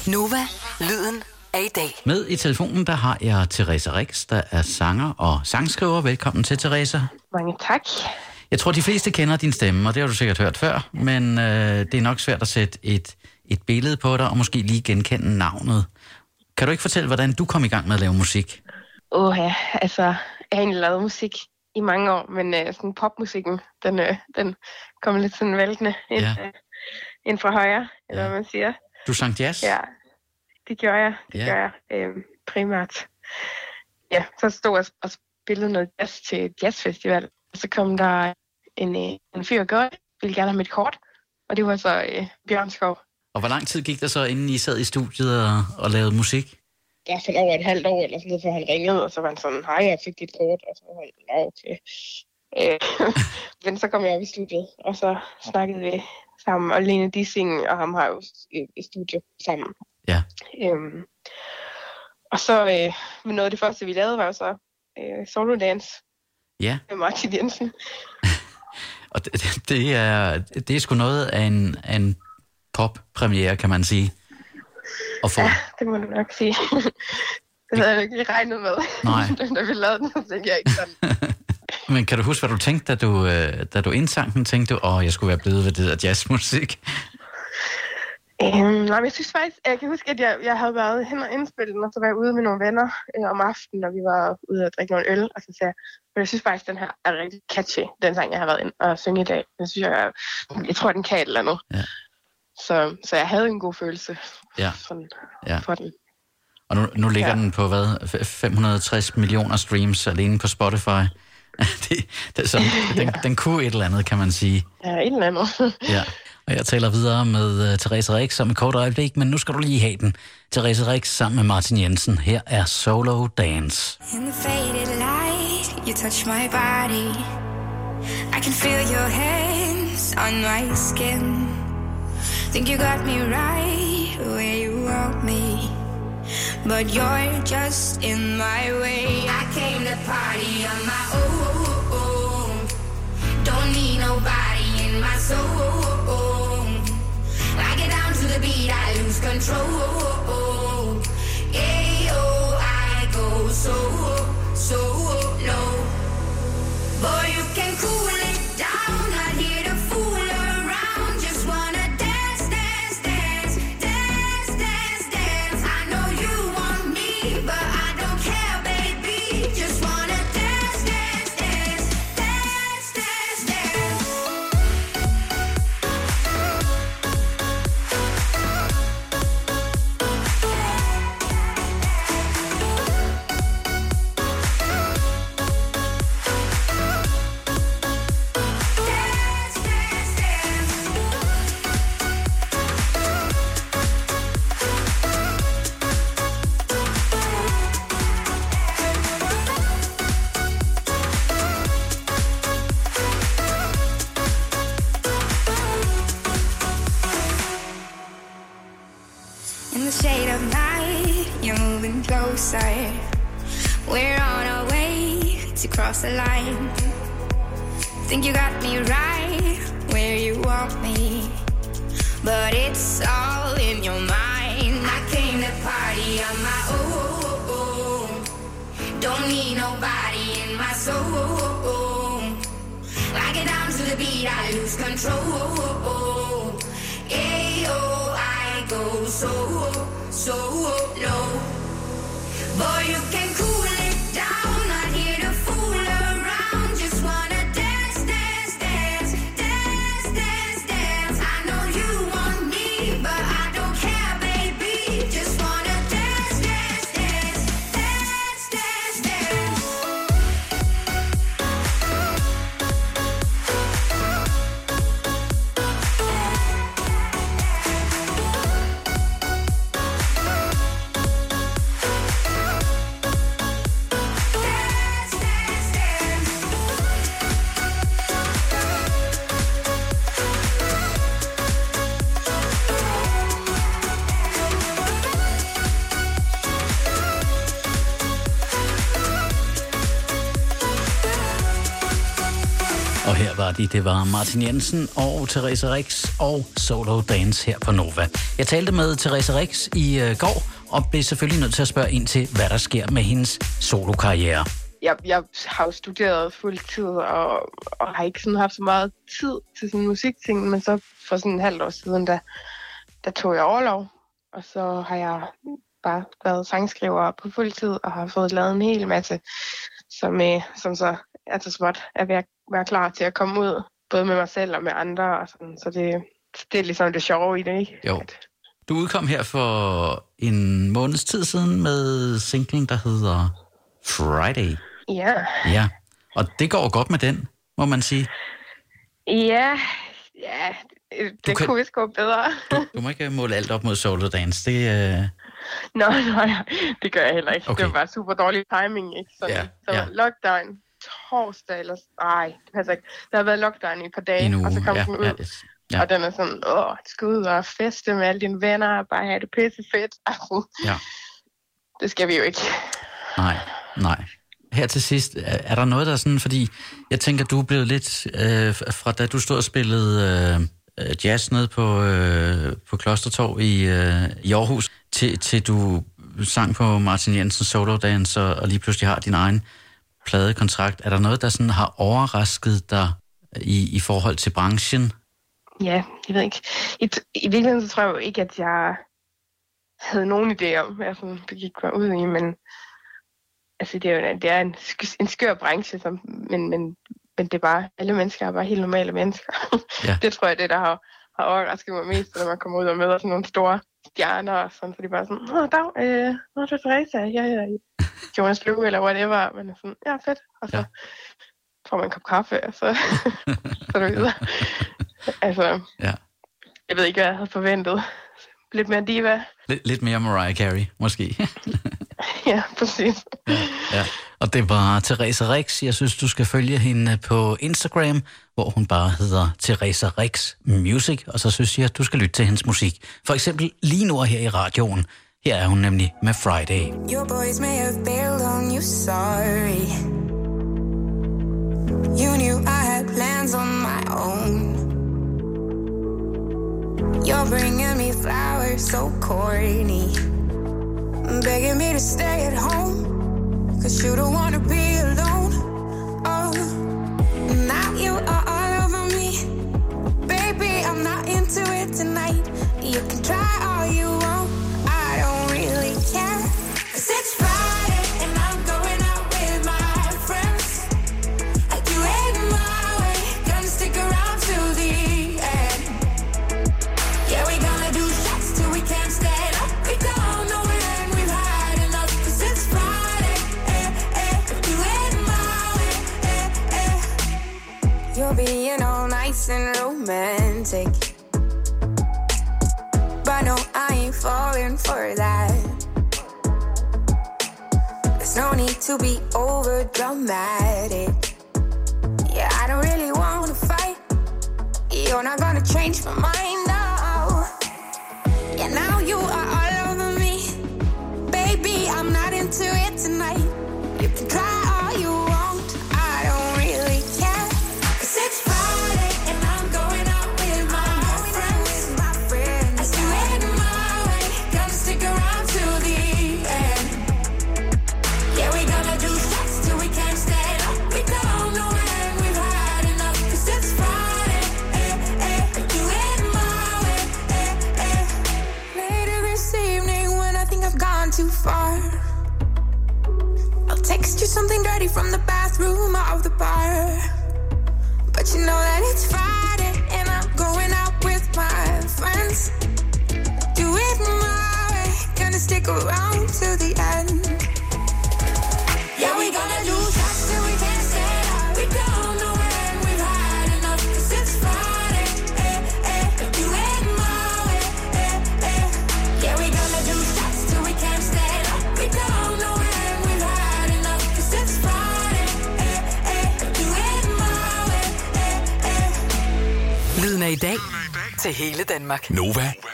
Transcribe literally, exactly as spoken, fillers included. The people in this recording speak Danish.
Nova, lyden af i dag. Med i telefonen, der har jeg Theresa Rix, der er sanger og sangskriver. Velkommen til, Theresa. Mange tak. Jeg tror, de fleste kender din stemme, og det har du sikkert hørt før, men øh, det er nok svært at sætte et, et billede på dig, og måske lige genkende navnet. Kan du ikke fortælle, hvordan du kom i gang med at lave musik? Åh ja, altså, jeg har egentlig lavet musik i mange år, men øh, sådan popmusikken, den, øh, den kommer lidt sådan væltende ind, Ja. øh, ind fra højre, eller Ja. hvad man siger. Du sang jazz? Ja, det gjorde jeg, det Ja. gjorde jeg øh, primært. Ja, så stod jeg og spillede noget jazz til et jazzfestival, og så kom der en, øh, en fyr og gør, ville gerne have mit kort, og det var så øh, Bjørn Skov. Og hvor lang tid gik der så, inden I sad i studiet og, og lavede musik? Ja, for over et halvt år eller sådan noget, før han ringede, og så var han sådan, hej, jeg fik dit kort, og så var han, ja, okay. Øh, men så kom jeg op i studiet, og så snakkede vi sammen, og Lene Dissing og ham har jo i, i studio sammen. Ja. Øhm, og så, øh, noget af det første, vi lavede, var jo så øh, Solo Dance Ja. med Martin Jensen. Og det, det, er, det er sgu noget af en, af en pop-premiere, kan man sige. At få. Ja, det må du nok sige. Det havde jeg ikke lige regnet med. Nej. Da vi lavede den, så tænkte jeg ikke sådan. Men kan du huske, hvad du tænkte, da du, øh, da du indsang den? Tænkte du, åh, jeg skulle være blevet ved det der jazzmusik? Øhm, nej, men jeg synes faktisk, jeg kan huske, at jeg, jeg havde været hen og indspille den, og så var jeg ude med nogle venner øh, om aftenen, og vi var ude og drikke nogle øl, og så sagde jeg, men jeg synes faktisk, den her er rigtig catchy, den sang, jeg har været ind og synge i dag. Jeg synes, jeg, jeg tror, den kan et eller andet. Ja. Så, så jeg havde en god følelse Ja. sådan, Ja. for den. Og nu, nu ligger Ja. den på, hvad, F- fem hundrede og tres millioner streams alene på Spotify. det, det, så, den, den kunne et eller andet, kan man sige. Ja, et eller andet. Ja. Og jeg taler videre med uh, Theresa Rix om et kort øjeblik, men nu skal du lige have den. Theresa Rix sammen med Martin Jensen. Her er Solo Dance. In the faded light, you touch my body. I can feel your hands on my skin. Think you got me right where you want me, but you're just in my way. I came to party on my own. Don't need nobody in my soul. I get down to the beat, I lose control. Yeah, oh, I go so, so low. Boy, you can cool it down, not here to fool around. Just wanna dance, dance, dance, dance, dance, dance. I know you want me, but I don't care, baby. Just wanna dance, dance, dance, dance, dance, dance. Dance, dance, dance. In the shade of night, you're moving closer. We're on our way to cross the line. Think you got me right where you want me, but it's all in your mind. I came to party on my own. Don't need nobody in my soul. I get down to the beat, I lose control. Yeah, oh, I go so, so low. Boy, you can cool it down, not here to fool around. Just wanna dance, dance, dance, dance, dance, dance. I know you want me, but I don't care, baby. Just wanna dance, dance, dance, dance, dance, dance. Og her var de, det var Martin Jensen og Therese Rix og Solo Dance her på Nova. Jeg talte med Therese Rix i øh, går, og blev selvfølgelig nødt til at spørge ind til, hvad der sker med hendes solokarriere. Jeg, jeg har jo studeret fuldtid, og, og har ikke sådan haft så meget tid til sådan musikting, men så for sådan en halvt år siden, der, der tog jeg overlov, og så har jeg bare været sangskriver på fuldtid, og har fået lavet en hel masse, som, øh, som så er så småt er ved at være klar til at komme ud, både med mig selv og med andre, og sådan, så det, det er ligesom det sjove i det, ikke? Jo. Du udkom her for en måneds tid siden med singlen, der hedder Friday. Ja. Ja, og det går godt med den, må man sige. Ja, ja, det, det kan... kunne vist gå bedre. Du, du må ikke måle alt op mod Solo Dance, det... Uh... Nå, nej, det gør jeg heller ikke. Okay. Det var bare super dårlig timing, ikke? Så, ja, så ja. Lockdown torsdag, eller... Ej, det passer ikke. Der har været lockdown i et par dage, uge, og så kom ja, den ud. Ja, det, ja. Og den er sådan, åh, du skal ud og feste med alle dine venner, og bare have det pisse fedt. Altså, ja. Det skal vi jo ikke. Nej, nej. Her til sidst, er der noget, der er sådan, fordi jeg tænker, du er blevet lidt, øh, fra da du stod og spillede øh, jazz nede på, øh, på Klostertorv i, øh, i Aarhus, til, til du sang på Martin Jensens Solo Dance, og, og lige pludselig har din egen pladekontrakt. Er der noget, der sådan har overrasket dig i, i forhold til branchen? Ja, jeg ved ikke. I, i virkeligheden så tror jeg jo ikke, at jeg havde nogen idé om, hvad jeg sådan begik mig ud i, men altså, det er jo det er en, en skør branche, som, men, men, men det er bare, alle mennesker er bare helt normale mennesker. Ja. Det tror jeg, det der har, har overrasket mig mest, når man kommer ud og møder sådan nogle store stjerner, og sådan, så de bare sådan, åh, dag, øh, nå, det er Therese, jeg er Jonas Blue, eller whatever, men sådan, ja, fedt, og så ja. får man en kop kaffe, og så, så er det videre. Altså, ja. Jeg ved ikke, hvad jeg havde forventet. Lidt mere diva. Lidt, lidt mere Mariah Carey, måske. Ja, præcis. Ja, ja. Og det var Therese Rix. Jeg synes, du skal følge hende på Instagram, hvor hun bare hedder Therese Rix Music. Og så synes jeg, at du skal lytte til hendes musik. For eksempel lige nu her i radioen. Her er hun nemlig med Friday. Your boys may have bailed on you, sorry. You knew I had plans on my own. You're bringing me flowers so corny, begging me to stay at home, cause you don't wanna be alone. Oh, now you are all over me. Baby, I'm not into it tonight. You can try all you want, I don't really care. Cause it's Friday and I'm going out with my friends. I do it my way, gonna stick around till the end. Yeah, we gonna do shots till we can't stand up. We don't know when we've had enough. Cause it's Friday, eh, eh. Do it my way, eh, eh. You're being all nice and romantic, but no, I ain't falling for that. There's no need to be over dramatic. Yeah, I don't really wanna fight. You're not gonna change my mind, no. Yeah, now you are all over me. Baby, I'm not into it tonight. You can try all you want, I don't really care. Cause it's Friday and I'm going out with my friends. My friends. I do it my way, gonna stick around till the end. Yeah, we gonna do shots till we can't stand up. We don't know when we've had enough. Cause it's Friday, eh, eh. I do it my way, eh, eh. Later this evening when I think I've gone too far, I'll text you something dirty from the bathroom of the bar. But you know that it's Friday and I'm going out with my friends. Do it my way, gonna stick around till the end. Yeah, we gonna do shots till we can't stand up. We don't know when we've had enough. Cause it's Friday, eh, eh. Do it my way, eh, eh. Yeah, we gonna do shots till we can't stand up. We don't know when we've had enough. Cause it's Friday, eh, eh. Do it my way, eh, eh. Lyden af i dag til hele Danmark. Nova